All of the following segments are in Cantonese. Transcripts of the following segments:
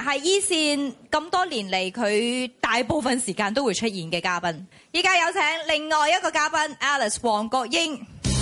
係依線咁多年嚟佢大部分時間都會出現嘅嘉賓。依家有請另外一個嘉賓 Alice 黃國英。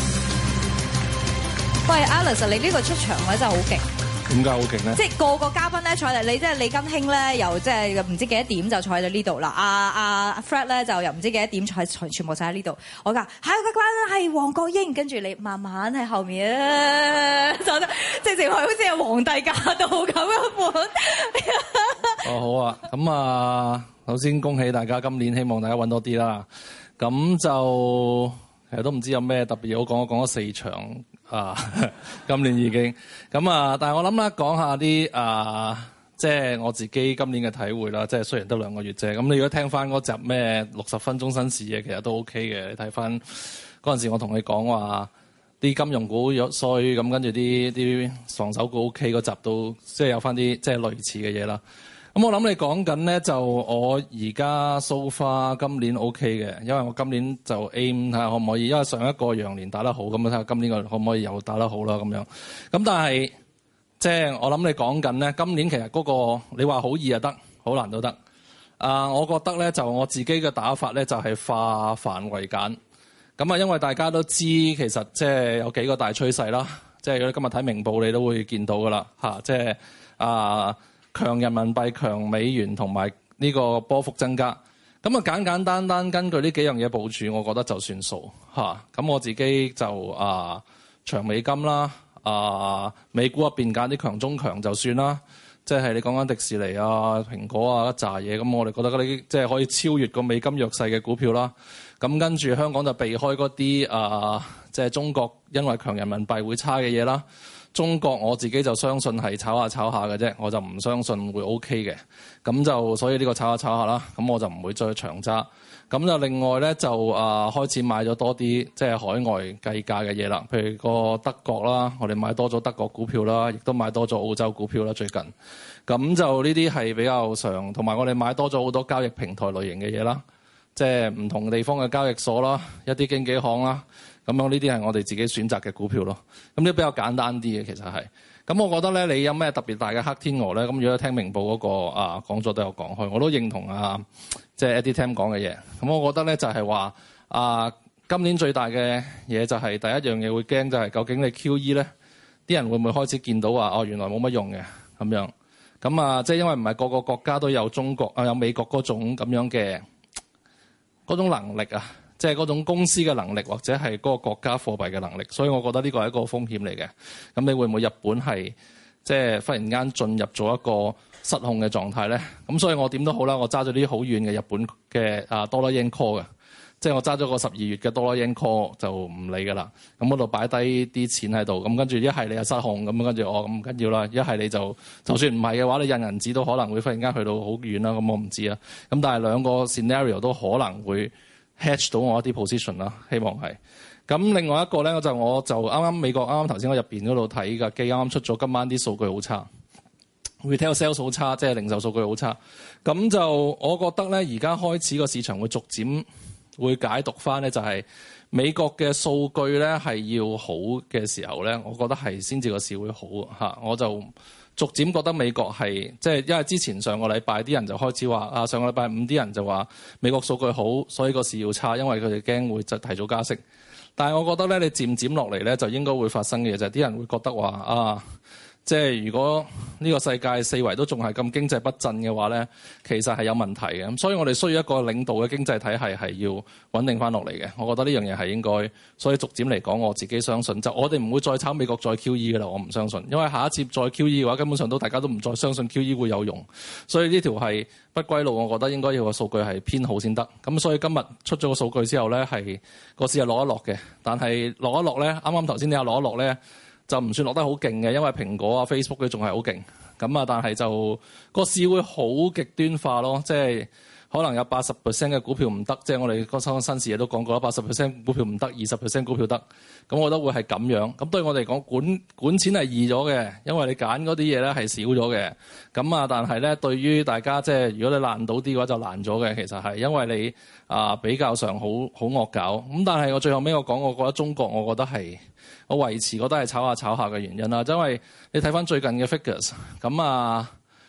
喂 Alice， 你呢個出場位真係好勁。 點解好勁咧？ 即係個個嘉賓咧坐嚟，你即係李根興咧，又即係唔知幾多點就坐喺呢度啦。阿 Fred 咧就又唔知幾多點坐喺全部晒喺呢度。我話下一個嘉賓係黃國英，跟住你慢慢喺後面就得，直情係好似係皇帝駕到咁嘅款。 哦，好啊，咁啊，首先恭喜大家，今年希望大家揾多啲啦。咁就其實都唔知有咩特別好講，我講咗4場。今年已經咁啊，但係我諗啦，講下啲即係我自己今年嘅體會啦。即係雖然得2個月啫，咁你如果聽翻嗰集咩60分鐘新視野，其實都 OK 嘅。你睇翻嗰陣時，我同你講話啲金融股弱衰，咁跟住啲防守股 OK 嗰集都即係有翻啲即係類似嘅嘢啦。咁我諗你講緊咧，就我而家 so far 今年 OK 嘅，因為我今年就 aim 睇下可唔可以，因為上一個羊年打得好，咁睇下今年可唔可以又打得好啦咁樣。咁但係即係我諗你講緊咧，今年其實嗰個你話好易又得，好難都得。我覺得咧就我自己嘅打法咧就係化繁為簡。咁啊，因為大家都知其實即係有幾個大趨勢啦，即係如果今日睇明報你都會見到噶啦嚇，即係強人民幣、強美元同埋呢個波幅增加，咁啊簡簡單單根據呢幾樣嘢部署，我覺得就算數嚇。咁我自己就長美金啦，美股入邊揀啲強中強就算啦。即係你講緊迪士尼啊、蘋果啊一紮嘢，咁我哋覺得嗰啲即係可以超越個美金弱勢嘅股票啦。咁跟住香港就避開嗰啲即係中國因為強人民幣會差嘅嘢啦。中國我自己就相信係炒下嘅啫，我就唔相信會 OK 嘅。咁就所以呢個炒下啦，咁我就唔會再長揸。咁就另外咧就開始買咗多啲即係海外計價嘅嘢啦，譬如個德國啦，我哋買多咗德國股票啦，亦都買多咗澳洲股票啦最近。咁就呢啲係比較常，同埋我哋買多咗好多交易平台類型嘅嘢啦，即係唔同地方嘅交易所啦，一啲經紀行啦。咁樣呢啲係我哋自己選擇嘅股票咯，咁呢比較簡單啲嘅其實係。咁我覺得咧，你有咩特別大嘅黑天鵝咧？咁如果聽明報嗰個講座都有講開，我都認同即係 Eddie Tam 講嘅嘢。咁我覺得咧就係話今年最大嘅嘢就係第一樣嘢會驚就係究竟你 QE 咧，啲人會唔會開始見到話原來冇乜用嘅咁樣？咁即係因為唔係個個國家都有中國有美國嗰種咁樣嘅嗰種能力啊。即係嗰種公司嘅能力，或者係嗰個國家貨幣嘅能力，所以我覺得呢個係一個風險嚟嘅。咁你會唔會日本係即係忽然間進入咗一個失控嘅狀態咧？咁所以我點都好啦，我揸咗啲好遠嘅日本嘅dollar yen call 嘅，即係我揸咗個12月嘅dollar yen call 就唔理㗎啦。咁嗰度擺低啲錢喺度，咁跟住一係你又失控，咁跟住咁唔緊要啦。一係你就算唔係嘅話，你印銀紙都可能會忽然間去到好遠啦。咁我唔知啊。咁但係兩個 scenario 都可能會hedge 到我一啲 position 啦，希望係。咁另外一個咧，我就啱啱美國啱啱頭先我入邊嗰度睇嘅機啱啱出咗，今晚啲數據好差 ，retail sales 好差，即係零售數據好差。咁就我覺得咧，而家開始個市場會逐漸會解讀翻咧，就係美國嘅數據咧係要好嘅時候咧，我覺得係先至個市會好嚇。我就逐漸覺得美國係即係因為之前上個禮拜啲人就開始話上個禮拜5啲人就話美國數據好，所以個市要差，因為佢哋驚會就提早加息。但係我覺得咧，你漸漸落嚟咧，就應該會發生嘅嘢就係啲人會覺得話即係如果呢個世界四圍都仲係咁經濟不振嘅話咧，其實係有問題嘅。咁所以我哋需要一個領導嘅經濟體系係要穩定翻落嚟嘅。我覺得呢樣嘢係應該，所以逐漸嚟講，我自己相信就我哋唔會再炒美國再 QE 嘅啦。我唔相信，因為下一次再 QE 嘅話，根本上都大家都唔再相信 QE 會有用。所以呢條係不歸路，我覺得應該要個數據係偏好先得。咁所以今日出咗個數據之後咧，係個市係落一落嘅，但係落一落咧，啱啱頭先你有落一落咧。就唔算落得好勁嘅，因為蘋果Facebook 佢仲係好勁咁但係就個市會好極端化咯，即係可能有80% 嘅股票唔得，即係我哋嗰新視野都講過啦，80% 股票唔得，20% 股票得，咁我覺得會係咁樣。咁對我哋講管錢係易咗嘅，因為你揀嗰啲嘢咧係少咗嘅。咁但係咧對於大家即係如果你爛到啲嘅話就難咗嘅，其實係因為你比較上好惡搞。咁但係我最後尾我講，我覺得中國我覺得係。我維持覺得係炒下嘅原因啦，因為你睇翻最近嘅 figures，咁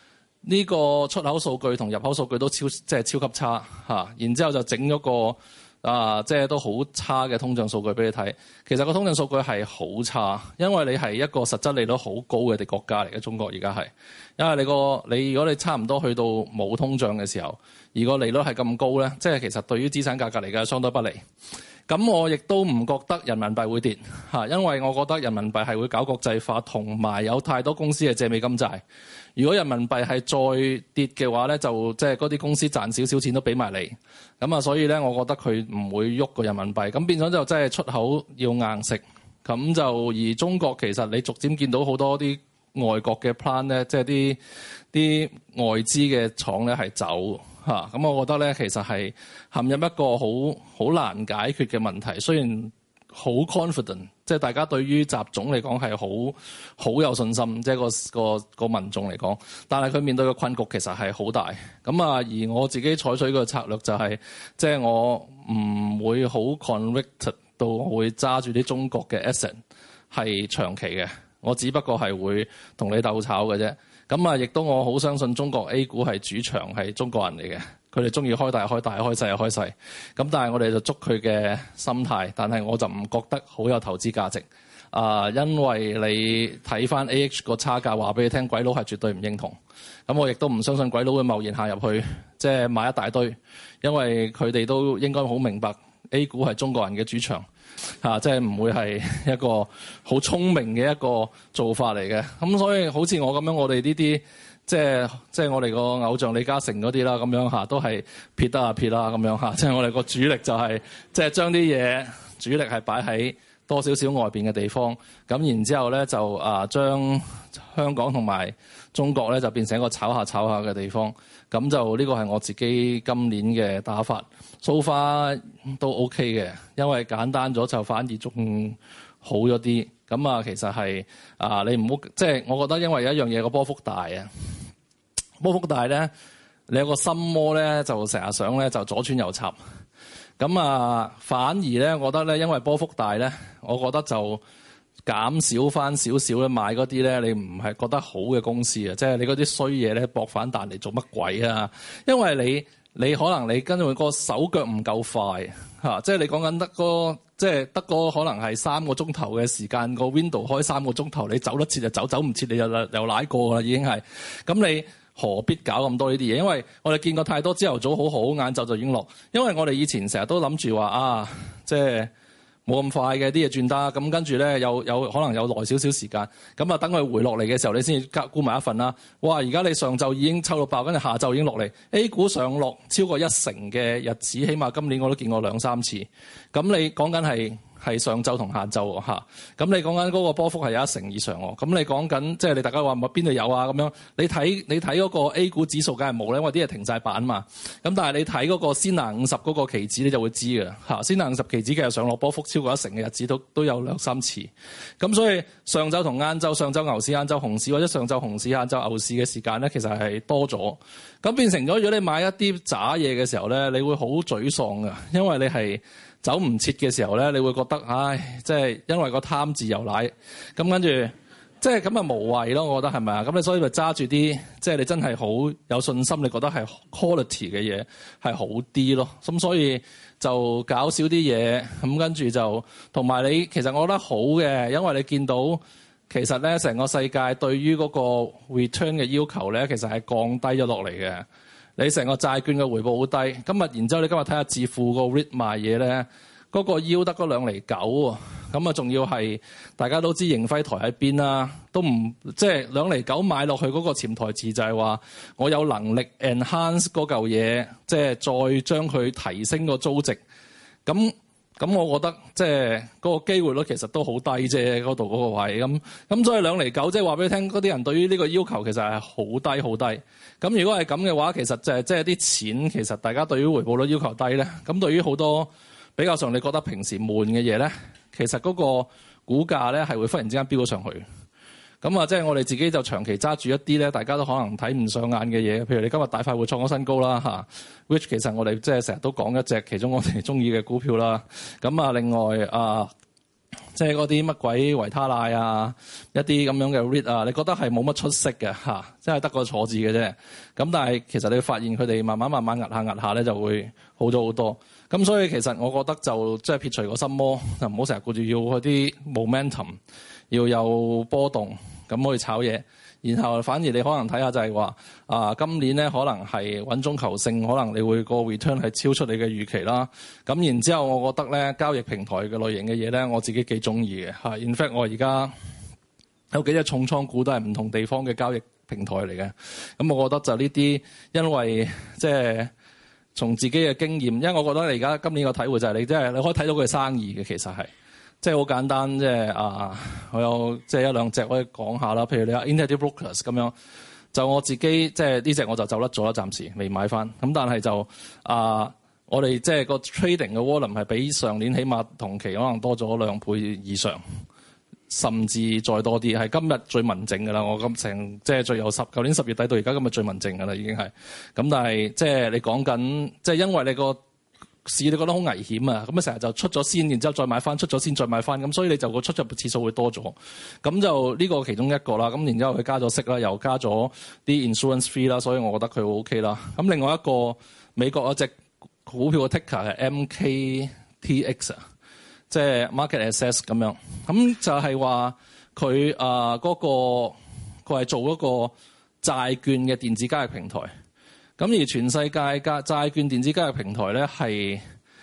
呢個出口數據同入口數據都超級差嚇，然之後就整咗個即係都好差嘅通脹數據俾你睇。其實個通脹數據係好差，因為你係一個實質利率好高嘅國家嚟嘅，中國而家係，因為你如果你差唔多去到冇通脹嘅時候，而個利率係咁高咧，即係其實對於資產價格嚟講相當不利。咁我亦都唔覺得人民幣會跌嚇，因為我覺得人民幣係會搞國際化，同埋有太多公司係借美金債。如果人民幣係再跌嘅話咧，就即係嗰啲公司賺少少錢都俾埋你。咁啊，所以咧，我覺得佢唔會喐個人民幣。咁變咗就真係出口要硬食。咁就而中國其實你逐漸見到好多啲外國嘅 plan 咧，即係啲外資嘅廠咧係走嚇。咁我覺得咧，其實係陷入一個好難解決嘅問題。雖然好 confident， 即係大家對於習總嚟講係好有信心，即係個民眾嚟講，但係佢面對嘅困局其實係好大。咁啊，而我自己採取嘅策略就係，即係我唔會好 convicted 到會揸住啲中國嘅 asset 係長期嘅，我只不過係會同你鬥炒嘅啫。咁啊，亦都我好相信中國 A 股係主場係中國人嚟嘅。佢哋中意開大開大，開細開細。咁但係我哋就捉佢嘅心態，但係我就唔覺得好有投資價值。因為你睇翻 AH 個差價，話俾你聽，鬼佬係絕對唔認同。咁我亦都唔相信鬼佬會貿然下入去，即係買一大堆，因為佢哋都應該好明白 A 股係中國人嘅主場，即係唔會係一個好聰明嘅一個做法嚟嘅。咁所以好似我咁樣，我哋呢啲。即係我哋個偶像李嘉誠嗰啲啦，咁樣嚇都係撇得啊撇啦咁樣嚇。即係我哋個主力就係即係將啲嘢主力係擺喺多少少外邊嘅地方，咁然之後咧就將香港同埋中國咧就變成一個炒下嘅地方。咁就呢個係我自己今年嘅打法，so far都 OK 嘅，因為簡單咗就反而仲好咗啲。咁啊，其實係你唔好即係，我覺得因為有一樣嘢個波幅大啊，波幅大咧，你有個心魔咧，就成日想咧就左穿右插。咁啊，反而咧，我覺得咧，因為波幅大咧，我覺得就減少翻少少咧買嗰啲咧，你唔係覺得好嘅公司啊，即係你嗰啲衰嘢咧搏反彈嚟做乜鬼啊？因為你可能你跟住個手腳唔夠快嚇，即係你講緊得個可能係3個鐘頭嘅時間，個 window 開3個鐘頭，你走得切就走唔切你又舐過啦，已經係。咁你何必搞咁多呢啲嘢？因為我哋見過太多朝頭早好好，晏晝就已經落。因為我哋以前成日都諗住話即係冇咁快嘅啲嘢轉得，咁跟住咧有可能有耐少少時間，咁啊等佢回落嚟嘅時候，你先至沽埋一份啦。哇！而家你上晝已經抽到爆，跟住下晝已經落嚟 ，A 股上落超過1成嘅日子，起碼今年我都見過2-3次。咁你講緊係上晝同下晝嚇，咁你講緊嗰個波幅係有1成以上喎。咁你講緊即係你大家話邊度有啊咁樣？你睇嗰個 A 股指數梗係冇咧，因為啲嘢停晒板嘛。咁但係你睇嗰個先拿50嗰個期指你就會知㗎嚇。先拿50期指其實上落波幅超過1成嘅日子都有2-3次。咁所以上晝同晏晝，上晝牛市、晏晝熊市或者上晝熊市、晏晝牛市嘅時間咧，其實係多咗。咁變成咗，如果你買一啲渣嘢嘅時候咧，你會好沮喪㗎，因為你係走唔切嘅時候咧，你會覺得唉，即係因為個貪自由奶，咁跟住即係咁啊無謂咯，我覺得係咪啊？咁你所以咪揸住啲即係你真係好有信心，你覺得係 quality 嘅嘢係好啲咯。咁所以就搞少啲嘢，咁跟住就同埋你其實我覺得好嘅，因為你見到其實咧成個世界對於嗰個 return 嘅要求咧，其實係降低咗落嚟嘅。你成個債券嘅回報好低，然之後你今日睇下置富個 REIT 賣嘢咧，嗰個 yield 得嗰2.9厘喎，咁啊仲要係大家都知盈輝台喺邊啦，都唔即係2.9厘買落去嗰個潛台詞就係話我有能力 enhance 嗰嚿嘢，即係再將佢提升個租值，咁我覺得即係嗰個機會率其實都好低啫，嗰度嗰個位咁所以2.9厘即係話俾你聽，嗰啲人對於呢個要求其實係好低好低。咁如果係咁嘅話，其實就係即係啲錢，其實大家對於回報率要求低咧，咁對於好多比較上你覺得平時悶嘅嘢咧，其實嗰個股價咧係會忽然之間飆咗上去。咁啊，即係我哋自己就長期揸住一啲咧，大家都可能睇唔上眼嘅嘢，譬如你今日大快活創咗新高啦嚇，which 其實我哋即係成日都講一隻其中我哋中意嘅股票啦。咁啊，另外即係嗰啲乜鬼維他奶啊，一啲咁樣嘅 REIT 啊，你覺得係冇乜出息嘅嚇，即係得個坐字嘅啫。咁但係其實你會發現佢哋慢慢壓下咧，就會好咗好多。咁所以其實我覺得就即係撇除個心魔，就唔好成日顧住要嗰啲 momentum，要有波動咁去炒嘢。然後反而你可能睇下就係話今年咧可能係穩中求勝，可能你會個 return 係超出你嘅預期啦。咁然之後，我覺得咧交易平台嘅類型嘅嘢咧，我自己幾中意嘅嚇。In fact，我而家有幾隻重倉股都係唔同地方嘅交易平台嚟嘅。咁我覺得就呢啲，因為即係從自己嘅經驗，因為我覺得你而家今年個體會就係你即係你可以睇到佢嘅生意嘅，其實係。即係好簡單，即係我有即係一兩隻可以講下啦。譬如你話 Interactive Brokers 咁樣，就我自己即係呢隻我就走甩咗啦，暫時未買翻。咁但係就我哋即係個 trading 嘅 volume 係比上年起碼同期可能多咗2倍以上，甚至再多啲。係今日最文靜㗎啦，我今成即係最由舊年10月底到而家今日最文靜㗎啦，已經係。咁但係即係你講緊，即係因為你個市你覺得好危險啊，咁成日就出咗先，然之後再買翻，出咗先再買翻，咁所以你就個出入嘅次數會多咗。咁就呢個其中一個啦。咁然之後佢加咗息啦，又加咗啲 insurance fee 啦，所以我覺得佢好 OK 啦。咁另外一個美國有隻股票嘅 ticker 係 MKTX 啊，即係 Market Access 咁樣。咁就係話佢嗰個佢係做一個債券嘅電子交易平台。咁而全世界債券電子交易平台咧係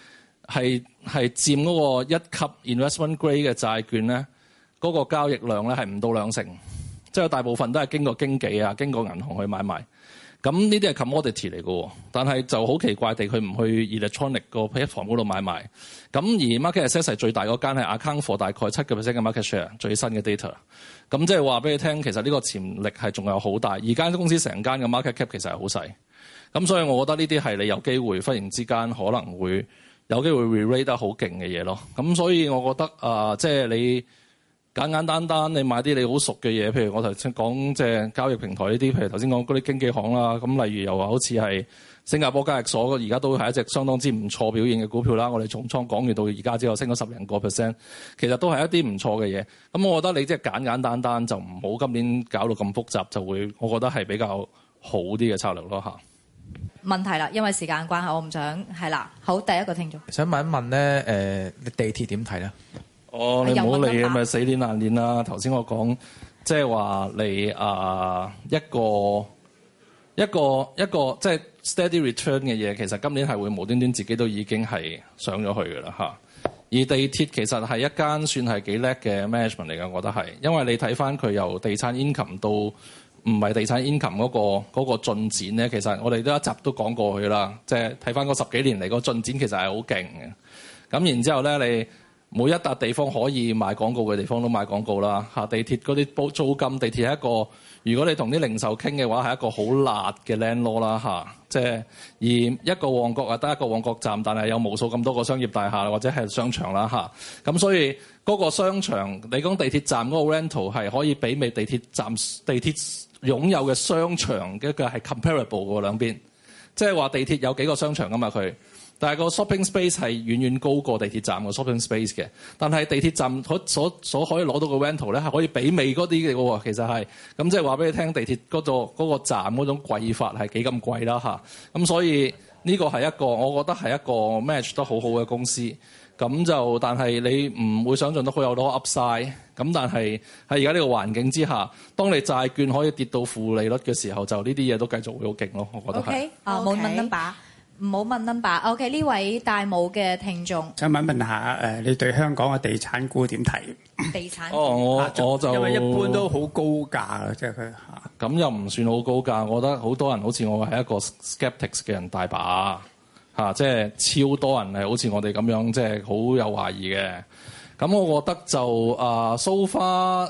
佔嗰個1級 investment grade 嘅債券咧，嗰個交易量咧係唔到2成，即係大部分都係經過經紀啊、經過銀行去買賣。咁呢啲係 commodity 嚟嘅，但係就好奇怪地佢唔去 electronic 個 platform 嗰度買賣。咁而 market access 係最大嗰間係 account for 大概7% 嘅 market share， 最新嘅 data。咁即係話俾你聽，其實呢個潛力係仲有好大。而間公司成間嘅 market cap 其實係好細。咁所以我覺得呢啲係你有機會忽然之間可能會有機會 re-rate 得好勁嘅嘢咯。咁所以我覺得即係你簡單你買啲你好熟嘅嘢，譬如我頭先講即係交易平台呢啲，譬如頭先講嗰啲經紀行啦。咁例如又話好似係新加坡交易所，而家都係一隻相當之唔錯表現嘅股票啦。我哋重倉講完到而家之後升咗10零個%，其實都係一啲唔錯嘅嘢。咁我覺得你即係簡單就唔好今年搞到咁複雜，就會我覺得係比較好啲嘅策略咯嚇。 問題啦，因為時間關係，我唔想係啦。好，第一個聽眾想問一問咧，你地鐵點睇咧？ 你唔好理咪死鏈爛鏈啦。頭先我講即係話你一個即係 steady return 嘅嘢，其實今年係會無端端自己都已經係上咗去㗎啦嚇。而地鐵其實係一間算係幾叻嘅 management 嚟㗎，我覺得係，因為你睇翻佢由地產 income 到唔係地產 income 嗰個進展咧，其實我哋都一集都講過去啦。即係睇翻嗰10幾年嚟個進展，其實係好勁嘅。咁然之後咧，你每一笪地方可以賣廣告嘅地方都賣廣告啦。地鐵嗰啲租金，地鐵係一個，如果你同啲零售傾嘅話，係一個好辣嘅 landlord 啦。即係而一個旺角得一個旺角站，但係有無數咁多個商業大廈或者係商場啦。咁所以嗰個商場，你講地鐵站嗰個 rental 係可以媲美地鐵站地鐵擁有嘅商場嘅一個係 comparable 嘅兩邊，即係話地鐵有幾個商場㗎嘛佢，但係個 shopping space 係遠遠高過地鐵站個 shopping space 嘅。但係地鐵站所可以攞到個 rental 咧係可以媲美嗰啲嘅喎，其實係咁即係話俾你聽，地鐵嗰個站嗰種貴法係幾咁貴啦嚇。咁所以呢個係一個我覺得係一個 match 得好好嘅公司。咁就但係你唔會想象到佢有多 upside。咁但係喺而家呢個環境之下，當你債券可以跌到負利率嘅時候，就呢啲嘢都繼續會好勁咯。我覺得係。 OK，冇問 number，唔好問 number。OK， 呢位大帽嘅聽眾， 想問下你對香港嘅地產股點睇？ 地產我就因為一般都好高價嘅，即係佢咁又唔算好高價。我覺得好多人好似我係一個 skeptics 嘅人大把。即係超多人係好似我哋咁樣，即係好有懷疑嘅。咁我覺得就so far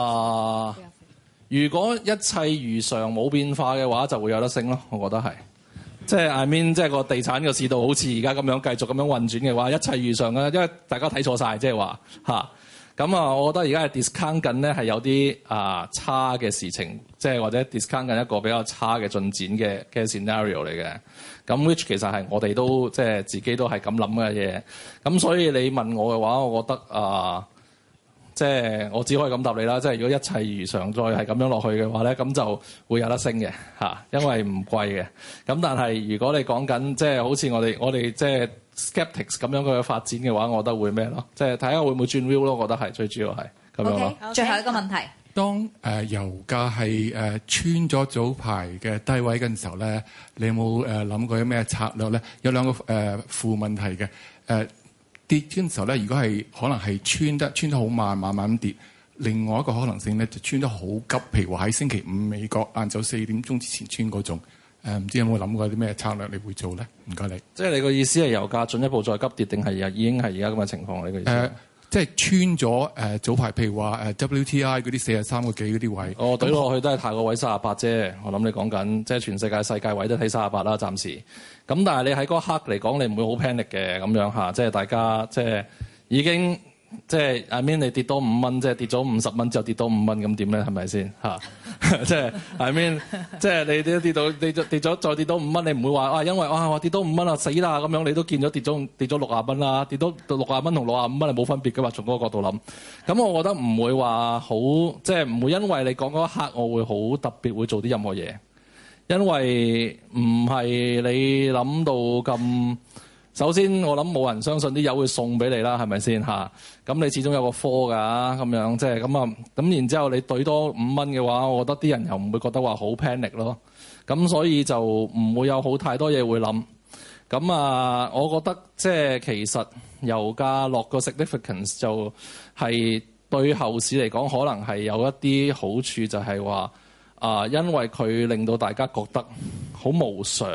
如果一切如常冇變化嘅話，就會有得升咯。我覺得係，即係 I mean 即係個地產嘅市道好似而家咁樣繼續咁樣運轉嘅話，一切如常啦。因為大家睇錯晒，即係話咁我覺得而家係 discount 緊咧係有啲差嘅事情，即係或者 discount 緊一個比較差嘅進展嘅 scenario 嚟嘅。咁 which 其實係我哋都即係自己都係咁諗嘅嘢。咁所以你問我嘅話，我覺得即係我只可以咁答你啦。即係如果一切如常再係咁樣落去嘅話咧，咁就會有得升嘅嚇，因為唔貴嘅。咁但係如果你講緊即係好似我哋即係 skeptics 咁樣嘅發展嘅話，我覺得會咩咯？即係睇下會唔會轉 view 咯。我覺得係最主要係咁樣咯。 最後一個問題。 當油價係穿咗早排嘅低位嘅時候咧，你有冇諗過有咩策略咧？有兩個負問題嘅跌嘅時候咧，如果係可能係穿得好慢，慢慢跌。另外一個可能性咧，就穿得好急，譬如話喺星期五美國晏晝4點鐘之前穿嗰種。唔知有冇諗過啲咩策略你會做咧？唔該你。 即係你個意思係油價進一步再急跌，定係已經係而家咁嘅情況？你個意思？ 即係穿咗早排，譬如話WTI 嗰啲43個幾嗰啲位， 我懟落去都係太個位38啫。我諗你講緊即係全世界位都睇38啦，暫時。咁但係你喺嗰刻嚟講，你唔會好 panic 嘅咁樣嚇，即係大家即係已經即係 I mean 你跌多5蚊，即係跌咗50蚊之後跌多5蚊，咁點咧？係咪先嚇？即係 I mean 即係你跌咗再跌多5蚊，你唔會話因為我跌多5蚊啊死啦咁樣，你都見咗跌咗60蚊啦，跌到60蚊同65蚊係冇分別㗎嘛？從嗰個角度諗，咁我覺得唔會話好，即係唔會因為你講嗰一刻，我會好特別會做啲任何嘢，因為唔係你諗到咁。首先，我諗冇人相信啲油會送俾你啦，係咪先嚇？咁你始終有個科㗎，咁樣即係咁啊。咁然之後你兌多5蚊嘅話，我覺得啲人又唔會覺得話好 panic 咯。咁所以就唔會有好太多嘢會諗。咁啊，我覺得即係其實油價落個 significance 就係對後市嚟講，可能係有一啲好處，就係話因為佢令到大家覺得好無常，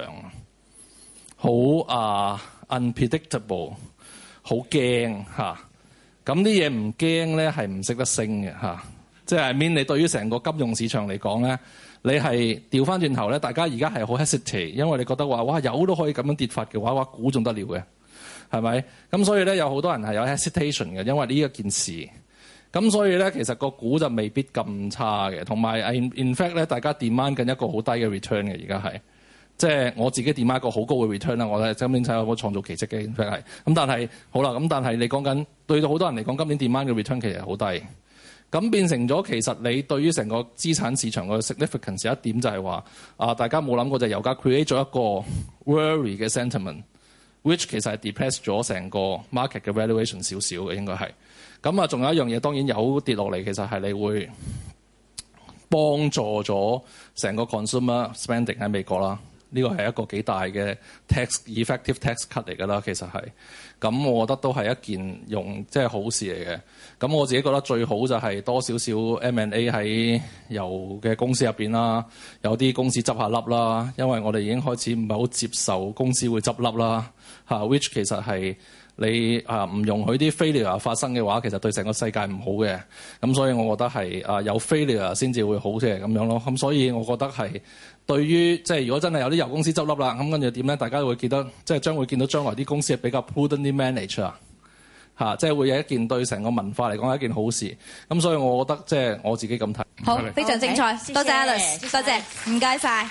好unpredictable， 好驚嚇。咁啲嘢唔驚咧，係唔識得升嘅嚇。即係 I mean 你對於成個金融市場嚟講咧，你係調翻轉頭咧，大家而家係好 hesitate，因為你覺得話哇油都可以咁樣跌法嘅話，哇股仲得了嘅，係咪？咁所以咧有好多人係有 hesitation 嘅，因為呢一件事。咁所以咧其實個股就未必咁差嘅，同埋 in fact 咧大家 demand 緊一個好低嘅 return 嘅，而家係。即係我自己點一個好高嘅 return 啦，我覺得今年睇有個創造奇蹟嘅 effect 係。咁但係好啦，咁但係你講緊對到好多人嚟講，今年 demand 嘅 return 其實好低。咁變成咗其實你對於成個資產市場嘅 significance 有一點就係話大家冇諗過就係油價 create 咗一個 worry 嘅 sentiment，which 其實係 depress 咗成個 market 嘅 valuation 少少嘅應該係。咁仲有一樣嘢，當然有跌落嚟，其實係你會幫助咗成個 consumer spending 喺美國啦。呢個係一個幾大嘅 effective tax cut 嚟㗎啦，其實係。咁我覺得都係一件即係好事嚟嘅。咁我自己覺得最好就係多少少 M&A 喺油嘅公司入邊啦，有啲公司執下笠啦，因為我哋已經開始唔係好接受公司會執笠啦，which 其實係你唔容許啲 failure 發生嘅話，其實對成個世界唔好嘅。咁所以我覺得係有 failure 先至會好嘅咁樣咯。咁所以我覺得係。對於即係如果真係有啲油公司執笠啦，咁跟住點咧？大家會記得即係將會見到將來啲公司係比較 prudently manage 即係會有一件對成個文化嚟講係一件好事。咁所以我覺得即係我自己咁睇。 好，非常精彩，多謝 Alice，多謝，唔該晒。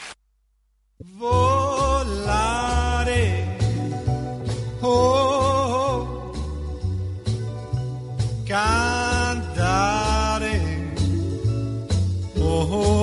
Cantare, oh